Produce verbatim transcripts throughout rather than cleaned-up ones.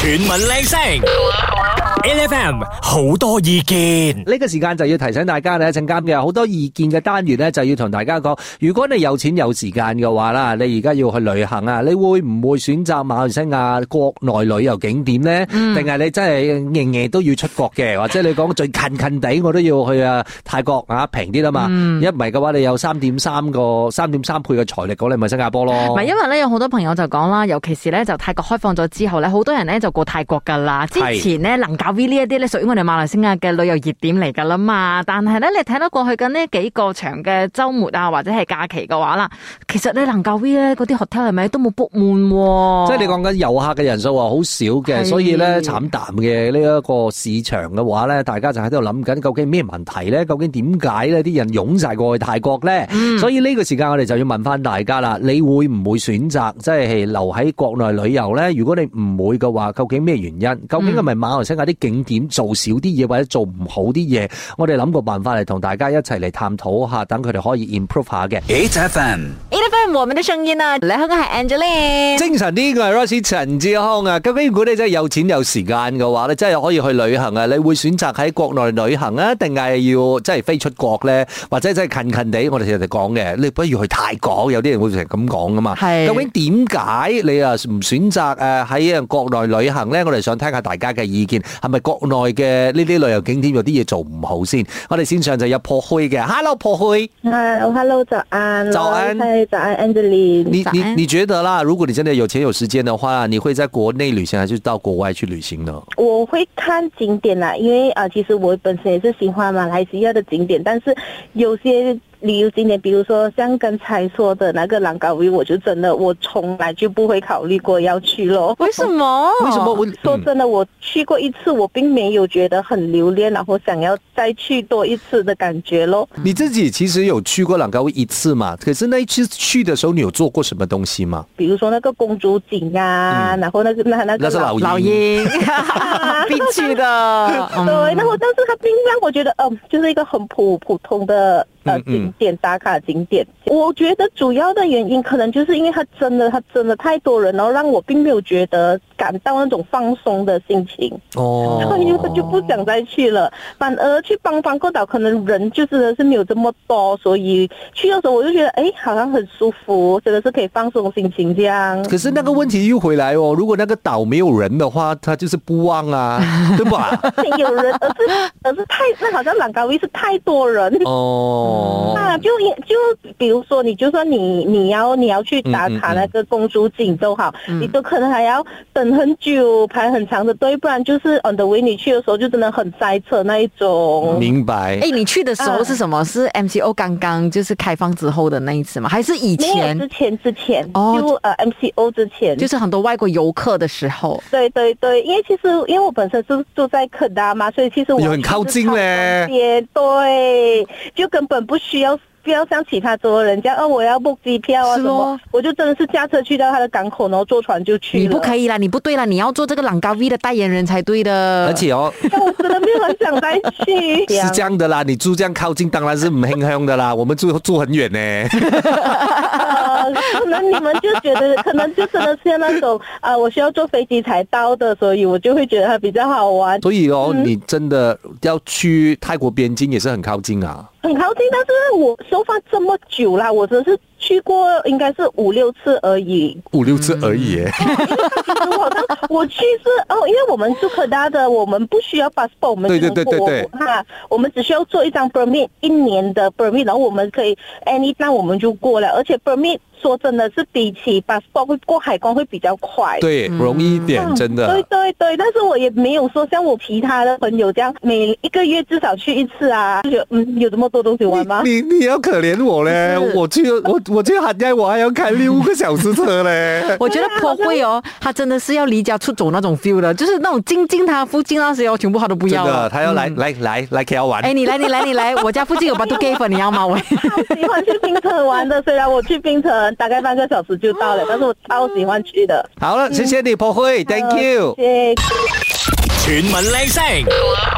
全民靚聲，L F M 好多意見。 呢個時間就要提醒大家咧，一陣間嘅好多意見嘅單元咧，就要同大家講，如果你有錢有時間嘅話啦，你而家要去旅行啊，你會唔會選擇馬來西亞國內旅遊景點咧？定係、嗯、你真係夜夜都要出國嘅，或者你講最近近地我都要去啊泰國啊平啲啦嘛？一唔係嘅話，你有三點三個三點三倍嘅財力，講你咪新加坡咯。 唔係，因為咧有好多朋友就講啦，尤其是咧就泰國開放咗之後咧，好多人咧就過泰國噶啦。之前咧能搞 V 呢一啲咧，屬於我哋馬來西亞嘅旅遊熱點嚟噶啦嘛。但係咧，你睇得過去緊呢幾個長嘅週末啊，或者係假期嘅話啦，其實你能夠 V 咧嗰啲 hotel 係咪都冇 book 滿？即係你講緊遊客嘅人數啊，好少嘅，所以咧慘淡嘅呢一個市場嘅話咧，大家就喺度諗緊究竟咩問題咧？究竟點解咧啲人湧晒過去泰國咧？嗯、所以呢個時間我哋就要問翻大家啦，你會唔會選擇即係留喺國內旅遊咧？如果你唔會嘅話，究竟咩原因？究竟係咪馬來西亞啲景點做少啲嘢，或者做唔好啲嘢？我哋諗個辦法嚟同大家一齊嚟探討下，等佢哋可以 improve 下嘅。 H F M，H F M， 我們的聲音啊，你好，我係 Angeline， 精神啲嘅係 Rosie 陳志康啊。究竟如果你真係有錢有時間嘅話，你真係可以去旅行啊？你會選擇喺國內旅行啊，定係要即係飛出國咧？或者真係近近地，我哋成日講嘅，你不如去泰國，有啲人會成日咁講噶嘛。係。究竟點解你啊唔選擇誒喺國內旅行咧？我哋想聽下大家嘅意見，係咪國內嘅呢啲旅遊景點有啲嘢做唔好先？我哋線上就有破虛嘅 ，Hello 破虛。 Hello Hello 早安。 早安。 早安 Angeline。 你你你覺得啦？如果你真的有錢有時間的話，你會在國內旅行，還是到國外去旅行呢？ 我會看景點啦，因為啊、呃，其實我本身也是喜歡馬來西亞的景點，但是有些旅遊景點，比如說像剛才說的那個蘭卡威，我就真的我從來就不會考慮過要去咯。 為什麼？ 為什麼？我說真的，我去過一次，我並沒有覺得很留戀，然後想要再去多一次的感覺咯。 你自己其實有去過蘭卡威一次嘛？可是那一次去的時候，你有做過什麼東西嗎？ 比如說那個公主井啊，嗯、然後那個那那個那是老老鷹必去的。 對，然後但是它並讓我覺得，嗯、呃，就是一個很普普通的。呃，景點打卡景點，我覺得主要的原因可能就是因為它真的，它真的太多人，然後讓我並沒有覺得感到那種放鬆的心情。哦，所以我就不想再去了。反而去邦邦過島，可能人就真的是沒有這麼多，所以去的時候我就覺得，哎，好像很舒服，真的是可以放鬆心情這樣。 可是那個問題又回來哦，如果那個島沒有人的話，它就是不旺啊，對吧？ 有人，而是而是太，那好像蘭卡威是太多人哦。 哦， 啊，就就比如說，你就算你你要你要去打卡那個公主井都好，嗯嗯嗯，你都可能還要等很久，排很長的隊，不然就是 on the way 你去的時候就真的很塞車那一種。 明白。 哎，你去的時候是什麼？啊、是 M C O 剛剛就是開放之後的那一次嗎？還是以前？ 之前之前哦， 就呃 M C O 之前， 就是很多外國遊客的時候。 對對對，因為其實因為我本身是住在科大嘛，所以其實我很靠近咧。 對，就根本不需要。不要像其他州的人家，哦，我要 book 機票啊什麼，我就真的是駕車去到他的港口，然後坐船就去了。 你不可以啦，你不對啦，你要做這個蘭卡威的代言人才對的。 而且哦， 但我真的沒有很想再去。 是這樣的啦，你住這樣靠近，當然是唔輕香的啦。我們住住很遠呢。 呃，可能你們就覺得，可能就真的是那種啊、呃，我需要坐飛機才到的，所以我就會覺得它比較好玩。 所以哦， 嗯、 你真的要去泰國邊境也是很靠近啊。 很靠近，但是我收發這麼久啦，我真的是去過應該是五六次而已。 五六次而已、嗯哦、因為其實我好像我去是哦，因為我們住科大的，我們不需要 passport， 我們就能過。對對對對對。哈，我們只需要做一張 permit， 一年的 permit， 然後我們可以 anytime 我們就過了，而且 permit 說真的是比起 passport 會過海關會比較快。 對，容易一點，嗯、真的。 對對對，但是我也沒有說像我其他的朋友這樣，每一個月至少去一次啊，就嗯，有這麼多東西玩嗎？ 你你，你要可憐我咧，我去我我去海外我還要開六個小時車咧。 我覺得破會哦，他真的是要離家出走那種 feel 的，就是那種近近他附近那些哦，全部他都不要了。 真的，他要來、嗯、來來來 K L 玩。哎， 你來你來你來，我家附近有 Batu Cave， 你要嗎？我超喜歡去檳城玩的，雖然我去檳城大概半個小時就到了，但是我超喜歡去的。 好了，謝謝你破會 ，Thank you。 謝謝。 全民靚聲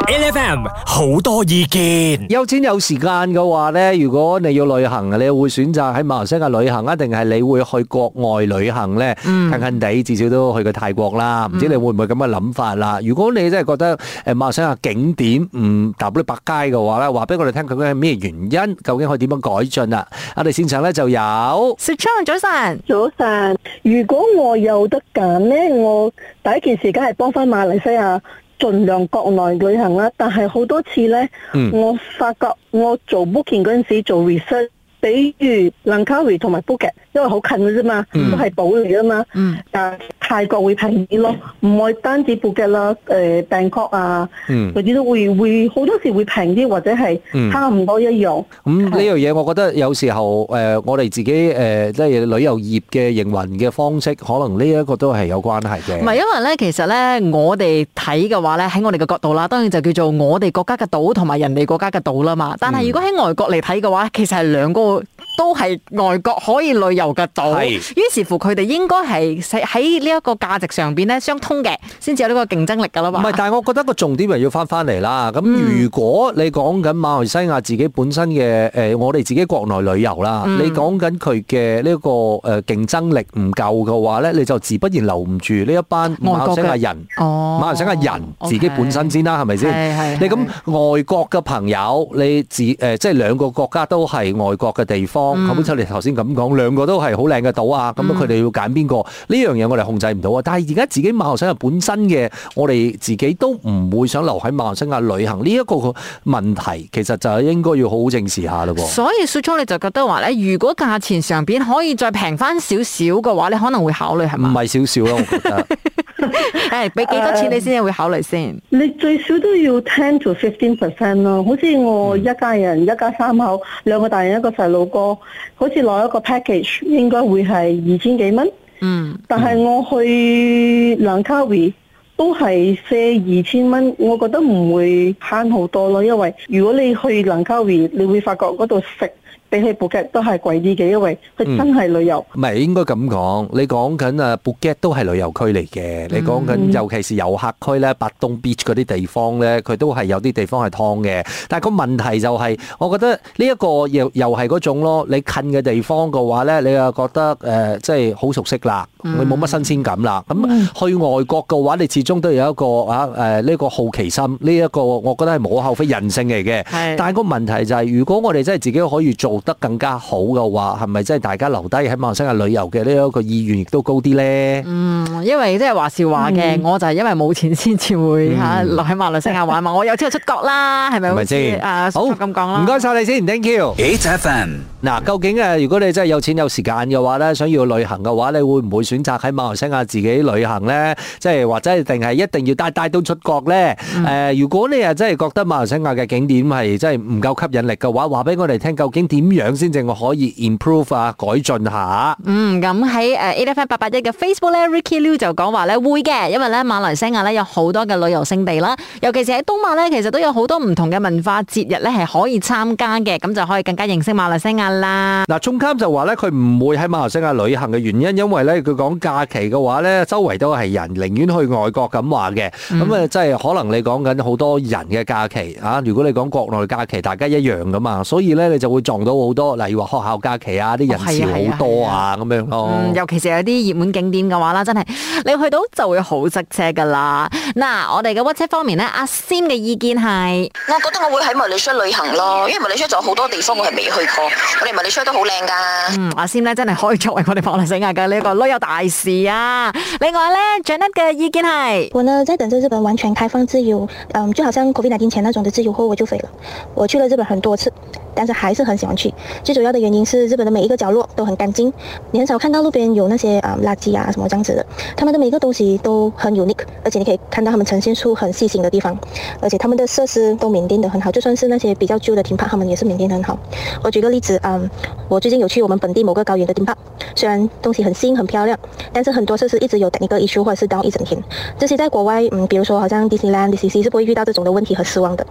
L F M 好多意見。 有錢有時間嘅話咧，如果你要旅行，你會選擇喺馬來西亞旅行啊，定係你會去國外旅行咧？嗯、近近地至少都去過泰國啦，唔知你會唔會咁嘅諗法啦？如果你真係覺得誒馬來西亞景點唔踏入百佳嘅話咧，話俾我哋聽究竟係咩原因？究竟可以點樣改進啊？我哋線上咧就有雪昌早晨， 早晨。如果我有得揀咧，我第一件事梗係幫翻馬來西亞盡量國內旅行啦。但係好多次咧，嗯、我發覺我做 booking 嗰陣時做 research，比如蘭卡威同埋 Phuket，因為好近嘅啫嘛，嗯、都係島嚟噶嘛。嗯、但泰國會平啲咯，唔係單止 Phuket啦，誒 Bangkok 啊，嗰啲、嗯、都會會好多時會平啲，或者係差唔多一樣。咁呢樣嘢，我覺得有時候誒、呃，我哋自己誒，即、呃、係旅遊業嘅營運嘅方式，可能呢一個都係有關係嘅。 唔係，因為咧，其實咧，我哋睇嘅話咧，喺我哋嘅角度啦，當然就叫做我哋國家嘅島同埋人哋國家嘅島啦嘛。但係如果喺外國嚟睇嘅話，其實係兩個都係外國可以旅遊嘅島。係。於是乎，佢哋應該係喺呢一個價值上邊咧相通嘅，先至有呢個競爭力噶啦嘛。唔係， 但係我覺得個重點係要翻翻嚟啦。咁如果你講緊馬來西亞自己本身嘅誒，我哋自己國內旅遊啦，你講緊佢嘅呢個誒競爭力唔夠嘅話咧，你就自不然留唔住呢一班馬來西亞人。哦，馬來西亞人自己本身先啦，係咪先？係係。你咁外國嘅朋友，你自誒即係兩個國家都係外國嘅地方，咁好似你頭先咁講，兩個都係好靚嘅島啊，咁佢哋要揀邊個？呢樣嘢我哋控制唔到啊！但係而家自己馬來西亞本身嘅，我哋自己都唔會想留喺馬來西亞旅行呢一個問題，其實就係應該要好好正視下咯。 所以雪聰你就覺得話咧，如果價錢上邊可以再平翻少少嘅話，你可能會考慮係嘛？唔係少少咯，我覺得。 誒，俾幾多錢你先會考慮先？ 你最少都要 ten to fifteen percent 咯。好似我一家人，嗯、一家三口，兩個大人一個細路哥，好似攞一個 package 應該會係二千幾蚊。嗯，但係我去蘭卡威都係借二千蚊，我覺得唔會慳好多咯。因為如果你去蘭卡威，你會發覺嗰度食比起布吉都係貴啲嘅，因為佢真係旅遊。唔係、 嗯、應該咁講，你講緊啊布吉都係旅遊區嚟嘅。嗯、你講緊尤其是遊客區咧，白東 beach 嗰啲地方咧，佢都係有啲地方係劏嘅。但係個問題就係、是，我覺得呢一個又又係嗰種咯。你近嘅地方嘅話咧，你又覺得誒即係好熟悉啦，你冇乜新鮮感啦。咁、嗯、去外國嘅話，你始終都有一個啊誒呢、呃這個好奇心，呢、這、一個我覺得係無可厚非人性嚟嘅。是但係個問題就係、是，如果我哋真係自己可以做得更加好嘅話，係咪真係大家留低喺馬來西亞旅遊嘅呢一個意願亦都高啲咧？ 嗯，因為即係話是話嘅，嗯、我就係因為冇錢先至會吓留喺馬來西亞玩嘛。我有錢就出國啦，係咪？係咪先？啊，好咁講啦。唔該晒你先 ，Thank you。H F M 嗱，究竟誒，如果你真係有錢有時間嘅話咧，想要旅行嘅話，你會唔會選擇喺馬來西亞自己旅行咧？即係或者定係一定要帶帶到出國咧？誒、嗯，如果你誒真係覺得馬來西亞嘅景點係真係唔夠吸引力嘅話，話俾我哋聽，究竟點樣先？正我可以 improve 啊，改進下。嗯，咁喺誒 A F M 八八一嘅 Facebook 咧 ，Ricky Liu 就講話咧會嘅，因為咧馬來西亞咧有好多嘅旅遊勝地啦，尤其是喺東馬咧，其實都有好多唔同嘅文化節日咧係可以參加嘅，咁就可以更加認識馬來西亞啦。嗱，中監就話咧佢唔會喺馬來西亞旅行嘅原因，因為咧佢講假期嘅話咧，周圍都係人，寧願去外國咁話嘅。咁啊、嗯，即係可能你講緊好多人嘅假期啊，如果你講國內假期，大家一樣噶嘛，所以咧你就會撞到好多。例如話學校假期啊，啲人潮好多啊，咁樣咯。嗯，尤其是有啲熱門景點嘅話啦，真係你去到就會好塞車噶啦。嗱，我哋嘅 WhatsApp 方面咧，阿 Sim 嘅意見係， 我覺得我會喺馬來西亞旅行咯，因為馬來西亞仲有好多地方我係未去過，我哋馬來西亞都好靚噶。嗯，阿 Sim 咧真係可以作為我哋馬來西亞嘅呢一個旅遊大使啊。另外咧 Janet 嘅意見係， 我呢在等着日本完全開放自由，嗯，就好像 COVID 十九 前那種的自由後我就飛了。我去了日本很多次，但是還是很喜歡去。最主要的原因是日本的每一個角落都很乾淨，你很少看到路邊有那些啊、嗯、垃圾啊什麼這樣子的。他們的每一個東西都很 unique， 而且你可以看到他們呈現出很細心的地方，而且他們的設施都maintain得很好，就算是那些比較舊的 theme park，他們也是maintain得很好。我舉個例子，嗯，我最近有去我們本地某個高原的 theme park，雖然東西很新很漂亮，但是很多設施一直有 technical issue 或者是 down 一整天。這些在國外，嗯，比如說好像 Disneyland、D C C 是不會遇到這種的問題和失望的。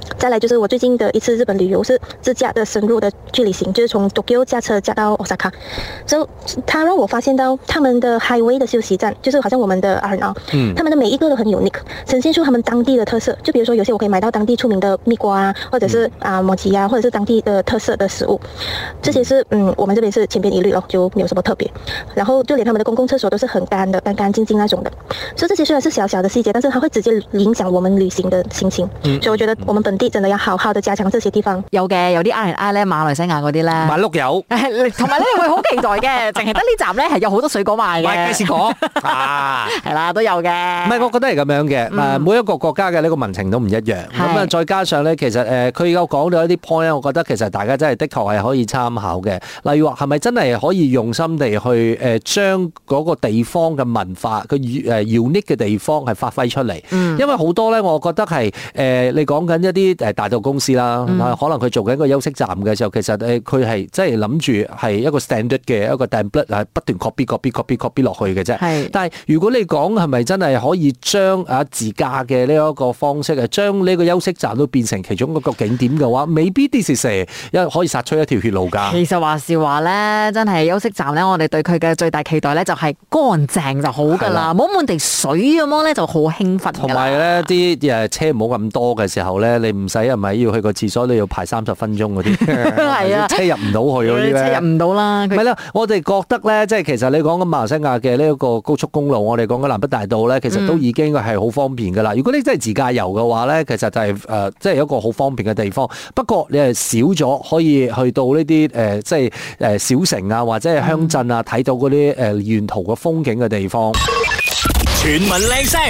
再來就是我最近的一次日本旅遊是自駕的深入的去旅行，就是從 Tokyo 駕車駕到 Osaka， 所以它讓我發現到他們的 highway 的休息站，就是好像我們的 R and R， 嗯，他們的每一個都很 unique， 呈現出他們當地的特色。就比如說有些我可以買到當地出名的蜜瓜啊，或者是啊摩吉啊，或者是當地的特色的食物，這些是嗯我們這邊是千篇一律咯，就沒有什麼特別。然後就連他們的公共廁所都是很乾的，乾乾淨淨那種的。所以這些雖然是小小的細節，但是它會直接影響我們旅行的心情。嗯，所以我覺得我們本地真的要好好的加強這些地方。 有嘅，有啲 R and R 咧，馬來西亞嗰啲咧， 買碌柚， 同埋咧會好期待嘅，淨係得呢站咧係有好多水果賣嘅。 買雞屎果啊， 係啦，都有嘅。 唔係，我覺得係咁樣嘅。誒、嗯，每一個國家嘅呢個民情都唔一樣。咁啊，再加上咧，其實誒，佢有講到一啲 point 咧，我覺得其實大家真係的確係可以參考嘅。例如話，係咪真係可以用心地去誒將嗰個地方嘅文化，佢誒 unique 嘅地方係發揮出嚟？嗯、因為好多咧，我覺得係誒、呃、你講緊一啲誒大道公司啦，嗯、可能佢做緊一個休息站嘅時候，其實誒佢係即係諗住係一個 standard 嘅一個 template 係不斷 copy copy copy copy 落去嘅啫。係，但係如果你講係咪真係可以將啊自駕嘅呢一個方式啊，將呢個休息站都變成其中一個景點嘅話，未必啲事成一可以殺出一條血路㗎。其實話是話咧，真係休息站咧，我哋對佢嘅最大期待咧就係乾淨就好㗎啦，冇滿地水咁樣咧就好興奮。 同埋咧啲誒車唔好咁多嘅時候咧，你唔使係咪要去個廁所你要排三十分鐘嗰啲？係啊，車入唔到去嗰啲咧， 車入唔到啦。 唔係啦，我哋覺得咧，即係其實你講緊馬來西亞嘅呢一個高速公路，我哋講緊南北大道咧，其實都已經係好方便㗎啦。如果你真係自駕遊嘅話咧，其實就係、是、誒、呃，即係一個好方便嘅地方。不過你係少咗可以去到呢啲誒，即係誒小城啊，或者係鄉鎮啊，睇到嗰啲誒沿途嘅風景嘅地方。 全民靚聲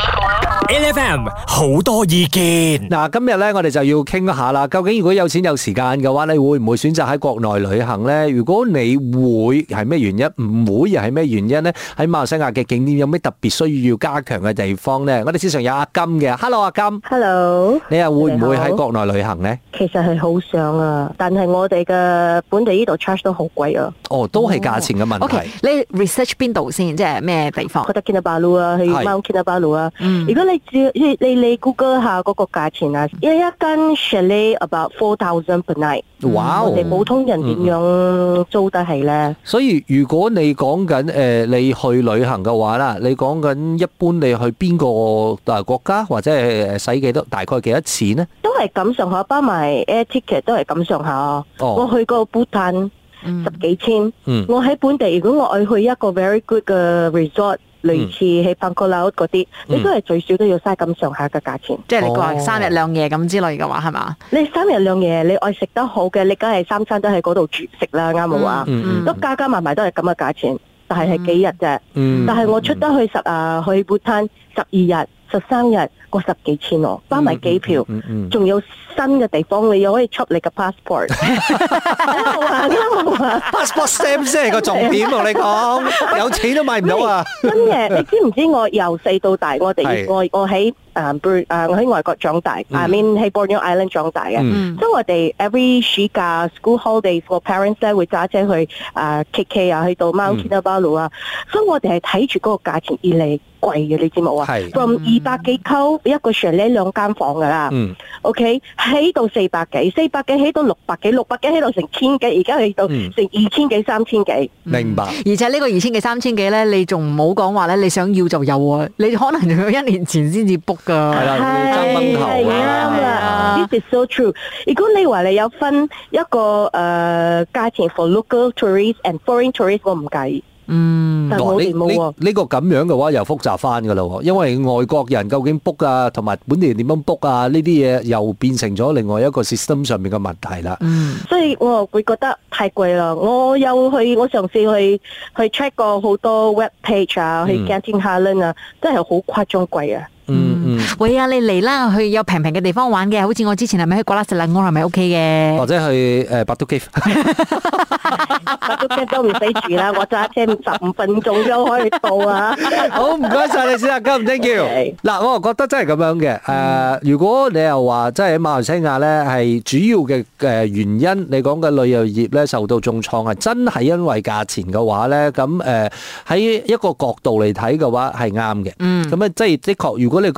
，L F M 好多意見。 嗱，今日咧我哋就要傾一下啦。究竟如果有錢有時間嘅話，你會唔會選擇喺國內旅行咧？如果你會係咩原因？唔會又係咩原因咧？喺馬來西亞嘅景點有咩特別需要加強嘅地方咧？我哋線上有阿金嘅 ，Hello 阿金 ，Hello， 你又會唔會喺國內旅行咧？ 其實係好想啊，但係我哋嘅本地呢度 charge 都好貴啊。 哦，都係價錢嘅問題。 OK，你 research 邊度先？即係咩地方？ 覺得 Kinabalu 啊，去 Mount Kinabalu 啊。如果你只你你你 Google 下嗰個價錢啊，一一間 chalet about four thousand per night。哇！我哋普通人點樣租得起咧？ 所以如果你講緊誒你去旅行嘅話啦，你講緊一般你去邊個誒國家或者係使幾多大概幾多錢咧？ 都係咁上下，包埋 air ticket 都係咁上下。哦，我去過 Bhutan 十幾千。嗯，我喺本地，如果我愛去一個 very good 嘅 resort。類似喺 Bangkok 嗰啲，你都係最少都要嘥咁上下嘅價錢。 即係你話三日兩夜咁之類嘅話，係嘛？ 你三日兩夜，你愛食得好嘅，你梗係三餐都喺嗰度住食啦，啱冇啊？都加加埋埋都係咁嘅價錢，但係係幾日啫？嗯、但係我出得去十啊去 Bhutan 十二日、十三日，過十幾千喎，包埋機票，仲、嗯嗯嗯、有新嘅地方，你又可以出你嘅 passport。 passport stamp 先係個重點同你講，有錢都買唔到啊！ 真嘅，你知唔知我由細到大，我哋我我喺誒誒我喺外國長大，I mean 喺 Borneo Island 長大嘅，所以我哋 every 暑假 school holidays 個 parents 咧會揸車去誒 K K 啊，去到 Mount Kinabalu 啊，所以我哋係睇住嗰個價錢而嚟貴嘅，你知冇啊？係 from 二百幾溝一個 chalet 兩間房噶啦，OK 起到四百幾，四百幾起到六百幾，六百幾起到成千幾，而家起到成二千幾、三千幾。 明白。 而且呢個二千幾、三千幾咧，你仲唔好講話咧，你想要就有啊，你可能仲要一年前先至 book 噶。 係啦，要爭崩頭啊！ 啱啦 ，This is so true。如果你話你有分一個誒價錢 for local tourists and foreign tourists，我唔介意。嗯，但係我哋冇喎。 呢個咁樣嘅話又複雜翻噶啦，因為外國人究竟 book 啊，同埋本地人點樣 book 啊，呢啲嘢又變成咗另外一個 system 上面嘅問題啦。 嗯，所以我會覺得太貴啦。我有去，我嘗試去去 check 過好多 web page 啊，去 Genting Highlands 啊，真係好誇張貴啊。 嗯嗯，喂啊，你嚟啦，去有平平嘅地方玩嘅，好似我之前係咪去瓜拉石蘭安係咪 OK 嘅？ 或者去誒百都 Cave， 百都 Cave 都唔使住啦，我揸車十五分鐘就可以到啊！ 好，唔該晒你先啊，金 thank you。嗱，我覺得真係咁樣嘅。誒，如果你又話真係喺馬來西亞咧，係主要嘅誒原因，你講嘅旅遊業咧受到重創係真係因為價錢嘅話咧，咁誒喺一個角度嚟睇嘅話係啱嘅。嗯，咁啊，即係的確，如果你講喺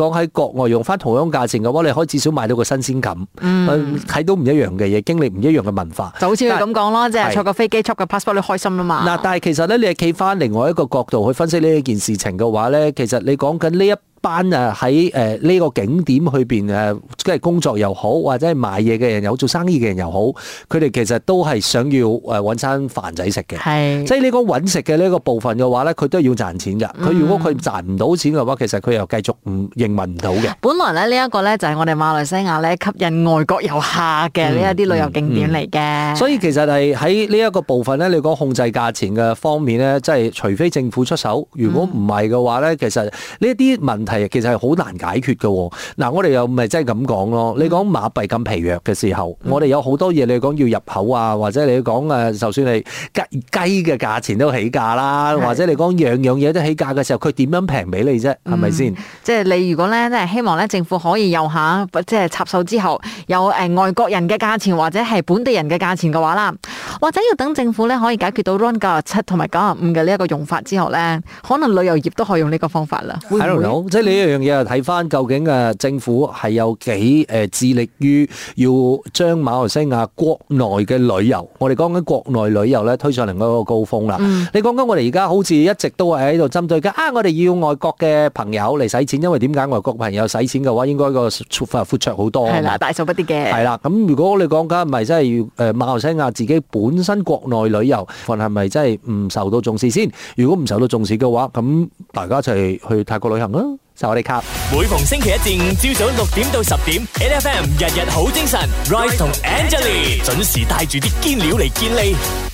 國外用翻同樣價錢嘅話，你可以至少買到個新鮮感，睇、嗯、到唔一樣嘅嘢，經歷唔一樣嘅文化。 就好似佢咁講咯，即係坐個飛機、坐個 passport 你開心啦嘛。嗱， 但係其實咧，你係企翻另外一個角度去分析呢一件事情嘅話咧，其實你講緊呢一班啊喺誒呢個景點去邊誒，即係工作又好，或者係賣嘢嘅人又好，做生意嘅人又好，佢哋其實都係想要誒揾餐飯仔食嘅。係，即係你講揾食嘅呢個部分嘅話咧，佢都要賺錢㗎。佢、嗯、如果佢賺唔到錢嘅話，其實佢又繼續唔營運唔到嘅。本來咧呢一個咧就係我哋馬來西亞咧吸引外國遊客嘅呢一啲旅遊景點嚟嘅、嗯嗯。所以其實係喺呢一個部分咧，你講控制價錢嘅方面咧，即係除非政府出手，如果唔係嘅話咧，其實呢一啲問題其實係好難解決嘅。嗱，我哋又唔係真係咁講咯。你講馬幣咁疲弱嘅時候，嗯、我哋有好多嘢你講要入口啊，或者你講誒，就算你雞雞嘅價錢都起價啦，或者你講樣樣嘢都起價嘅時候，佢點樣平俾你啫？係咪先？ 即係你如果咧，即係希望咧，政府可以有下，即係插手之後有誒外國人嘅價錢或者係本地人嘅價錢嘅話啦，或者要等政府咧可以解決到 R O N 九十七同埋九十五嘅呢一個用法之後咧，可能旅遊業都可以用呢個方法啦。會唔會？ 即係呢一樣嘢睇翻究竟誒政府係有幾誒致力於要將馬來西亞國內嘅旅遊，我哋講緊國內旅遊咧推上另一個高峰啦。嗯、你講緊我哋而家好似一直都係喺度針對緊啊！我哋要外國嘅朋友嚟使錢，因為點解外國朋友使錢嘅話，應該個闊闊綽好多。係啦， 大數不啲嘅。 係啦，咁如果你講緊係咪真係要誒馬來西亞自己本身國內旅遊，份係咪真係唔受到重視先？如果唔受到重視嘅話，咁大家一齊去泰國旅行啦！就我哋卡， 每逢星期一至五朝早六點到十點 ，N F M 日日好精神 ，Rise 同 Angelie 準時帶住啲堅料嚟健利。